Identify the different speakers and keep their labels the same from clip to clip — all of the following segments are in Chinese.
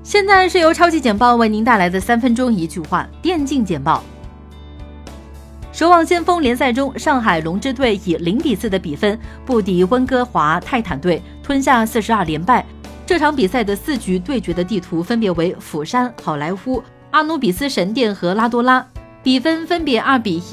Speaker 1: 现在是由超级简报为您带来的3分钟一句话电竞简报。守望先锋联赛中，上海龙之队以0-4的比分不敌温哥华泰坦队，吞下42连败。这场比赛的4局对决的地图分别为釜山、好莱坞、阿努比斯神殿和拉多拉，比分分别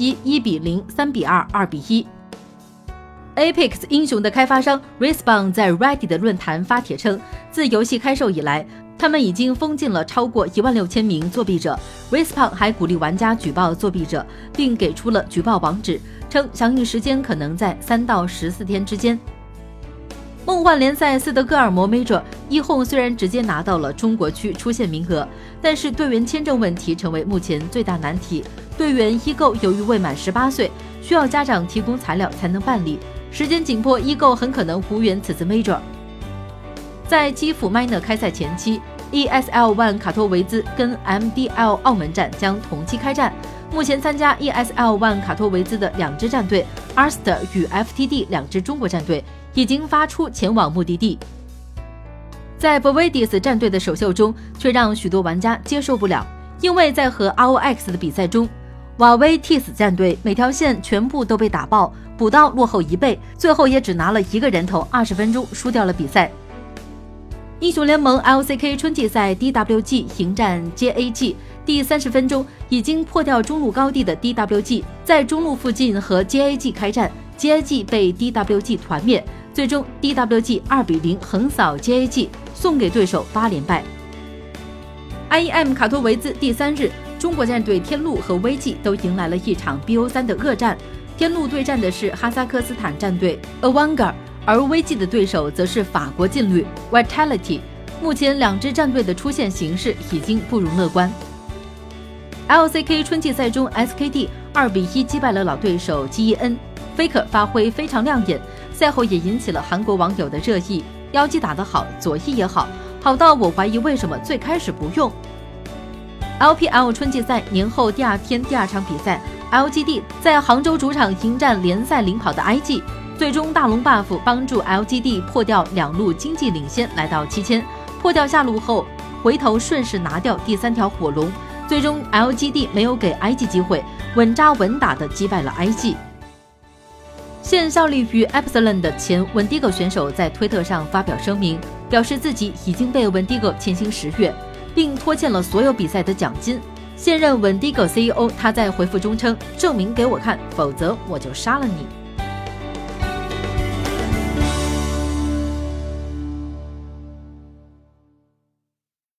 Speaker 1: 2-1、1-0、3-2、2-1。Apex 英雄的开发商 Respawn 在 Reddit 论坛发帖称，自游戏开售以来，他们已经封禁了超过16000名作弊者。Respawn 还鼓励玩家举报作弊者，并给出了举报网址，称响应时间可能在3到14天之间。梦幻联赛斯德哥尔摩 Major 一红虽然直接拿到了中国区出线名额，但是队员签证问题成为目前最大难题。队员一购由于未满18岁，需要家长提供材料才能办理，时间紧迫，一购很可能无缘此次 Major。在基辅 Miner 开赛前期 ，ESL ONE 卡托维兹跟 MDL 澳门站将同期开战。目前参加 ESL ONE 卡托维兹的2支战队 Arster 与 FTD 2支中国战队已经发出前往目的地。在 Bovedis 战队的首秀中，却让许多玩家接受不了，因为在和 ROX 的比赛中，瓦威 T 死战队每条线全部都被打爆，补刀落后1倍，最后也只拿了1个人头，20分钟输掉了比赛。英雄联盟 LCK 春季赛 DWG 迎战 JAG， 第30分钟已经破掉中路高地的 DWG 在中路附近和 JAG 开战， JAG 被 DWG 团灭，最终 DWG 2-0横扫 JAG， 送给对手8连败。IEM 卡托维兹第3日，中国战队天路和 VG 都迎来了一场 BO3 的恶战。天路对战的是哈萨克斯坦战队 Avangard， 而 VG 的对手则是法国劲旅 Vitality。 目前2支战队的出线形势已经不容乐观。LCK 春季赛中 SKT 2-1击败了老对手 GEN，Faker 发挥非常亮眼，赛后也引起了韩国网友的热议，妖姬打得好，左翼也好，好到我怀疑为什么最开始不用。LPL 春季赛年后第2天第2场比赛， LGD 在杭州主场迎战联赛领跑的 IG， 最终大龙 buff 帮助 LGD 破掉2路经济领先，来到7000，破掉下路后回头顺势拿掉第3条火龙，最终 LGD 没有给 IG 机会，稳扎稳打的击败了 IG。 现效力于 Epsilon 的前 Wendigo 选手在推特上发表声明，表示自己已经被 Wendigo 欠薪10月，并拖欠了所有比赛的奖金。现任 Wendigo CEO 他在回复中称，证明给我看，否则我就杀了你。